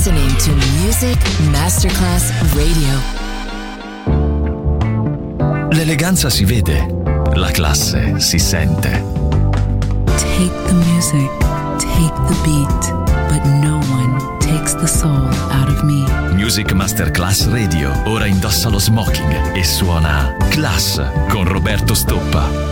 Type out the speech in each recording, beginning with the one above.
listening to Music Masterclass Radio. L'eleganza si vede, la classe si sente. Take the music, take the beat, but no one takes the soul out of me. Music Masterclass Radio ora indossa lo smoking e suona Class con Roberto Stoppa.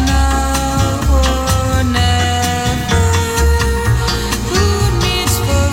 Who needs for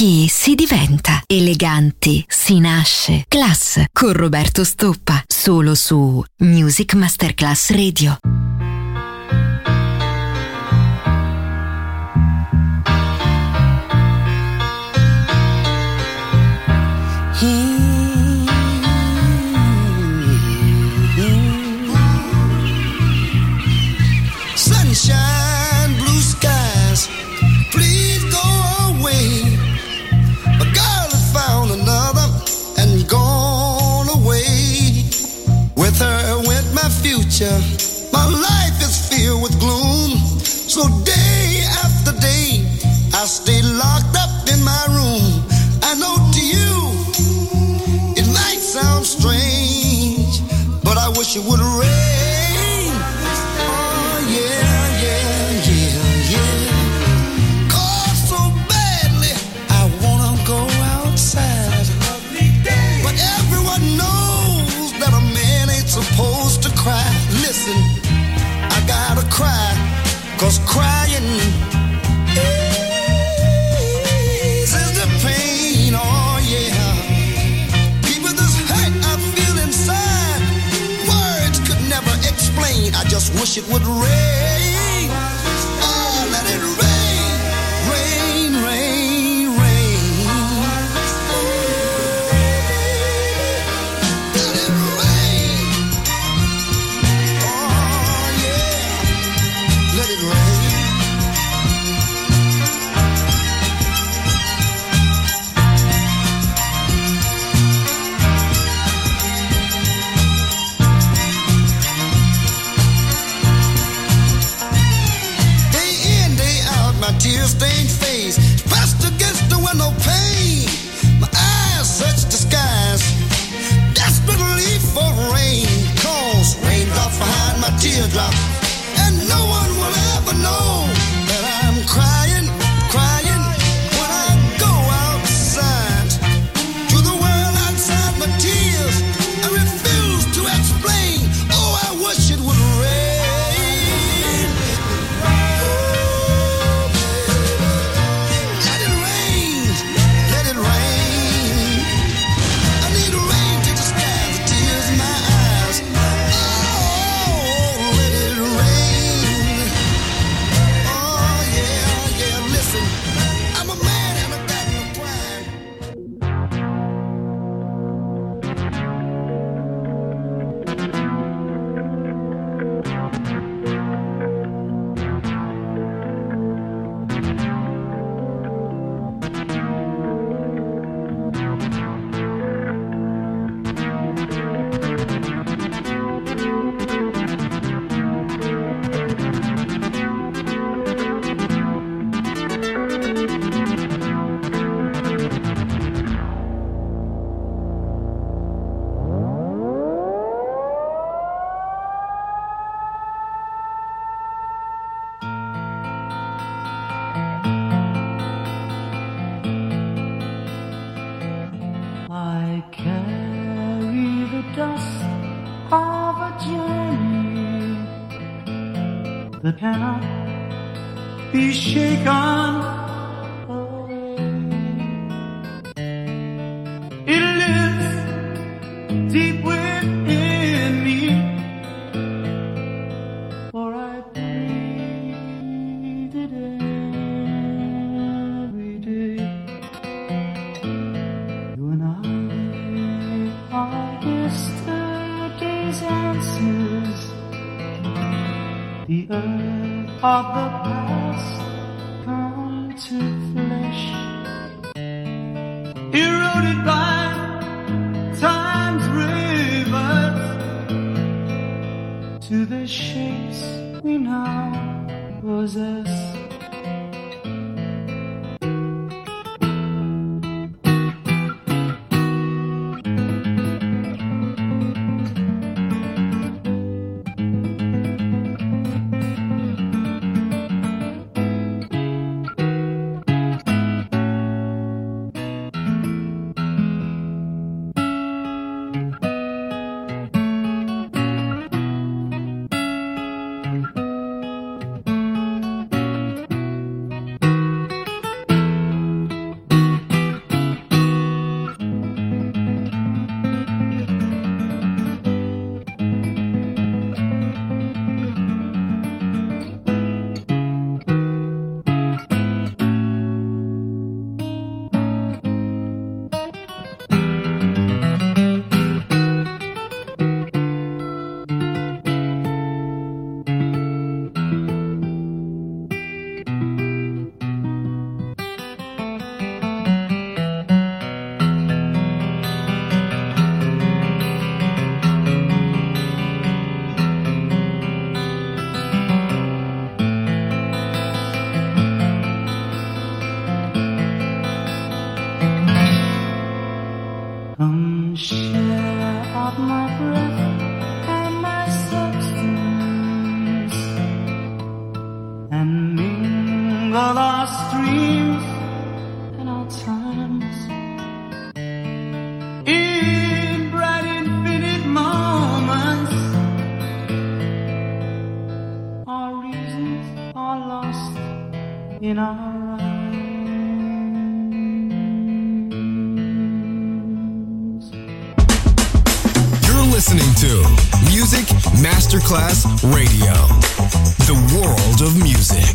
Chi si diventa? Eleganti si nasce. Class con Roberto Stoppa. Solo su Music Masterclass Radio. Sunshine, blue skies, please go away. A girl has found another and gone away. With her went my future. My life is filled with gloom. So day after day, I stay locked up in my room. I know to you, it might sound strange, but I wish it would rain. Oh yeah, yeah, yeah, yeah. Cold so badly, I wanna go outside. But everyone knows that a man ain't supposed to cry. Listen, I gotta cry, 'cause crying eases the pain. Oh yeah. People, this hurt I feel inside, words could never explain. I just wish it would rain. Oh, let it rain, rain, rain, rain. Let it rain. Oh yeah, let it rain. Day in, day out, my tear-stained face pressed against the window pane. My eyes search the skies desperately for rain. Cause raindrops behind my teardrop, and no one will ever know that I'm crying, crying when I go outside. To the world outside my tears, I refuse to explain. Oh, I wish it would rain. Let it rain, let it rain. I need rain to disguise the tears in my eyes. Oh, let it rain. Oh yeah, yeah, listen, I'm a man and I got no pride. I carry the dust of a journey that cannot be shaken away. It lives deep within me, for I breathe it every day. You and I are yesterday's answers, the earth of the past come to flesh, eroded by time's rivers, to the shapes we now possess. the lost dreams and our times in bright infinite moments. Our reasons are lost in our eyes. You're listening to Music Masterclass Radio, the world of music.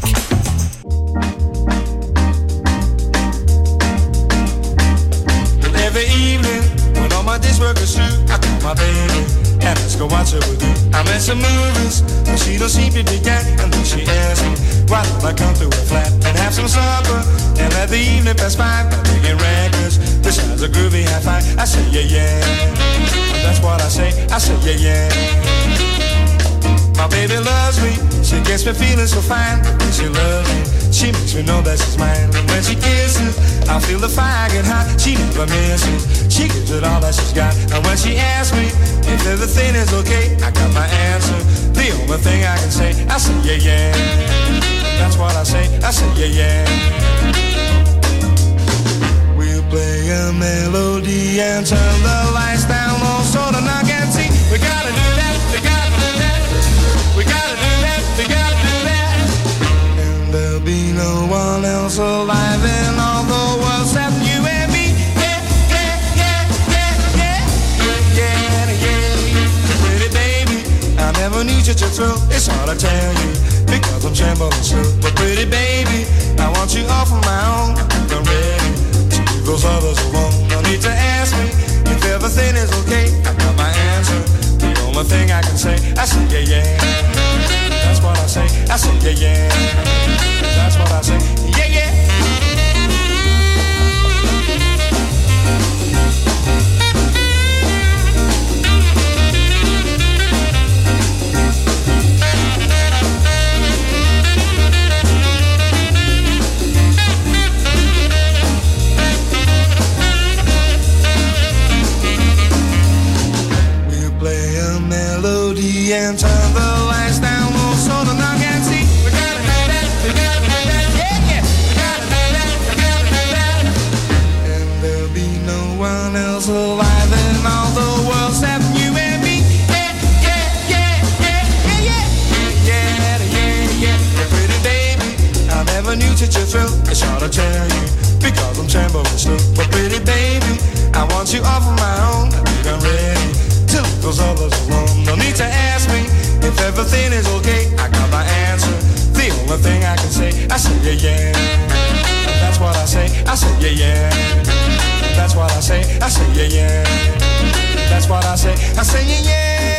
Every evening, when all my days work is through, I call my baby and let's go watch it with you. I'm at some movies, but she don't seem to dig that. And then she asks me, why don't I come through a flat and have some supper and let the evening pass by by making records. This sounds a groovy high five. I say yeah yeah, that's what I say yeah yeah. My baby loves me, she gets me feeling so fine. When she loves me, she makes me know that she's mine. And when she kisses, I feel the fire get hot. She never misses, she gives it all that she's got. And when she asks me if everything is okay, I got my answer. The only thing I can say, I say yeah yeah. That's what I say yeah yeah. We'll play a melody and turn the lights down low so the night can see. We gotta do that, we gotta do that. We gotta do that, we gotta do that. And there'll be no one else alive in all the world except you and me. Yeah, yeah, yeah, yeah, yeah, yeah, yeah, yeah. Pretty baby, I never need you to thrill. It's hard to tell you because I'm trembling still. But pretty baby, I want you all for my own. I'm ready to leave those others alone. No need to ask me if everything is okay. I got my answer. The only thing I can say, I say yeah yeah. That's what I say yeah yeah. That's what I say, yeah yeah. And turn the lights down low so the night can see. We gotta do that, we gotta do that, yeah, yeah. We gotta do that, we gotta do that. And there'll be no one else alive in all the world except you and me. Yeah, yeah, yeah, yeah, yeah, yeah, yeah, yeah, yeah. Pretty baby, I never knew such a thrill. It's hard to tell you because I'm trembling still. But pretty baby, I want you all for my own. I think I'm ready to leave those others alone. No need to ask me if everything is okay. I got my answer. The only thing I can say, I say yeah yeah. That's what I say yeah yeah. That's what I say yeah yeah. That's what I say yeah yeah.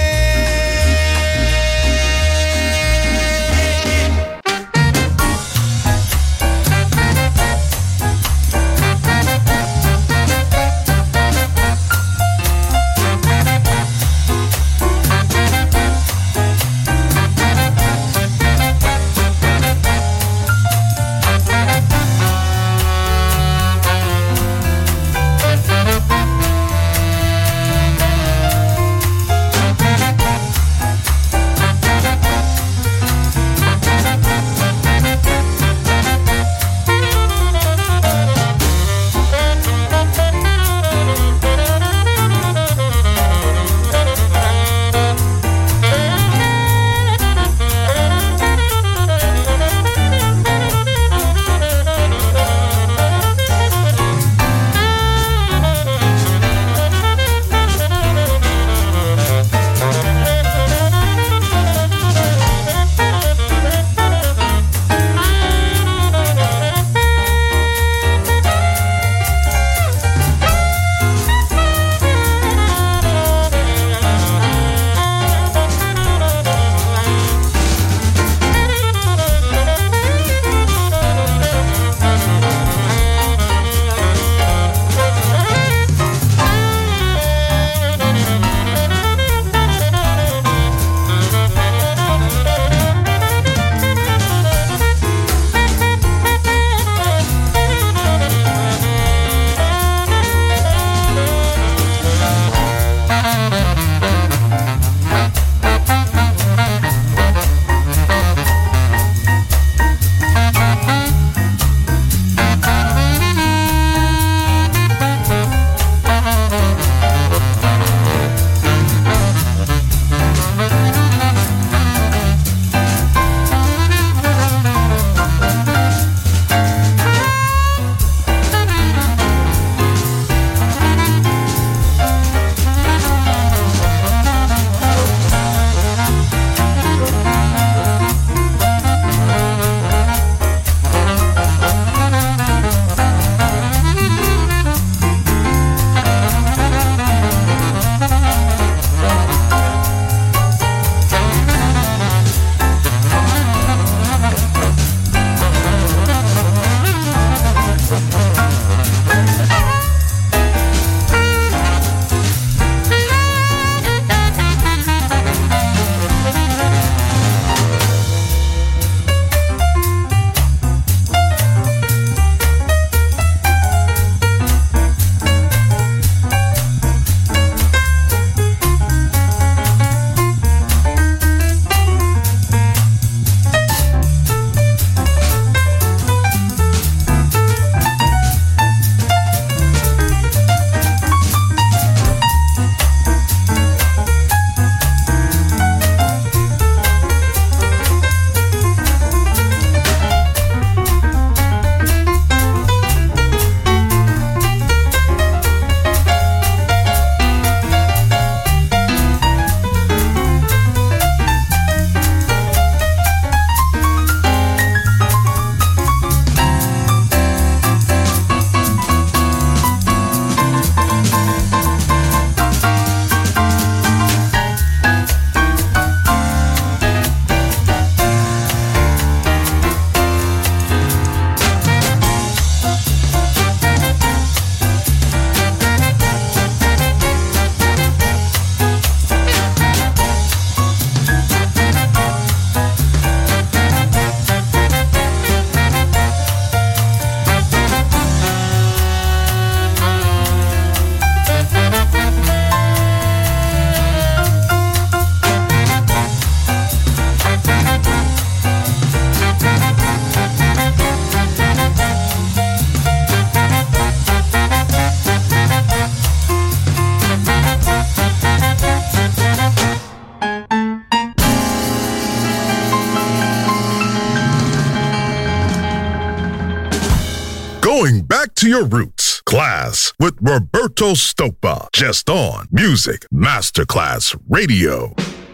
to your roots. Class with Roberto Stoppa. Just on Music Masterclass Radio.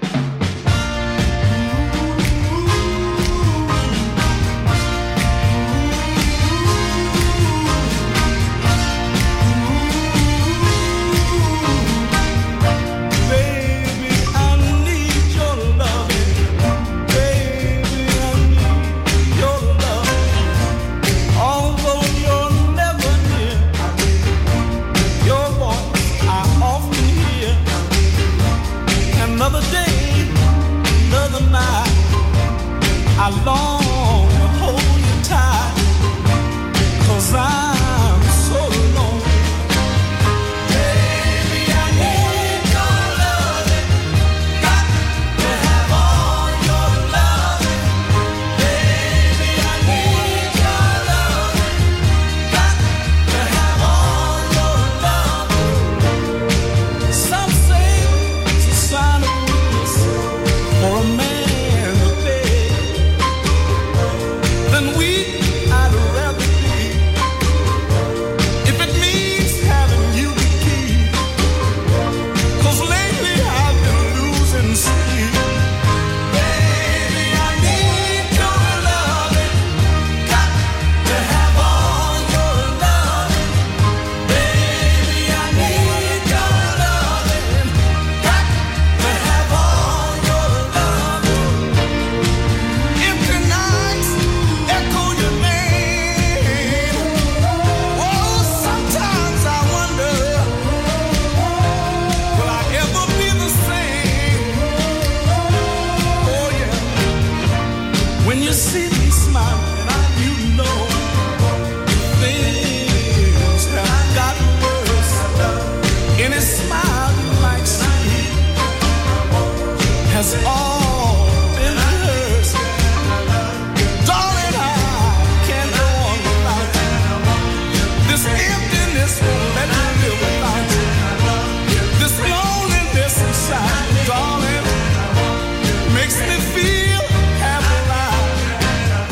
I long to hold you tight, 'cause I'm so lonely. Baby, I need your loving, got to have all your loving. Baby, I need your loving, got to have all your loving. Some say it's a sign of weakness for a man. All been hers, darling. I can't go on without you. This emptiness won't let me live without you. This loneliness inside, darling, makes me feel half alive.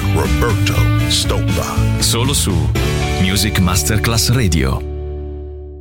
Roberto Stoppa. Solo su Music Masterclass Radio.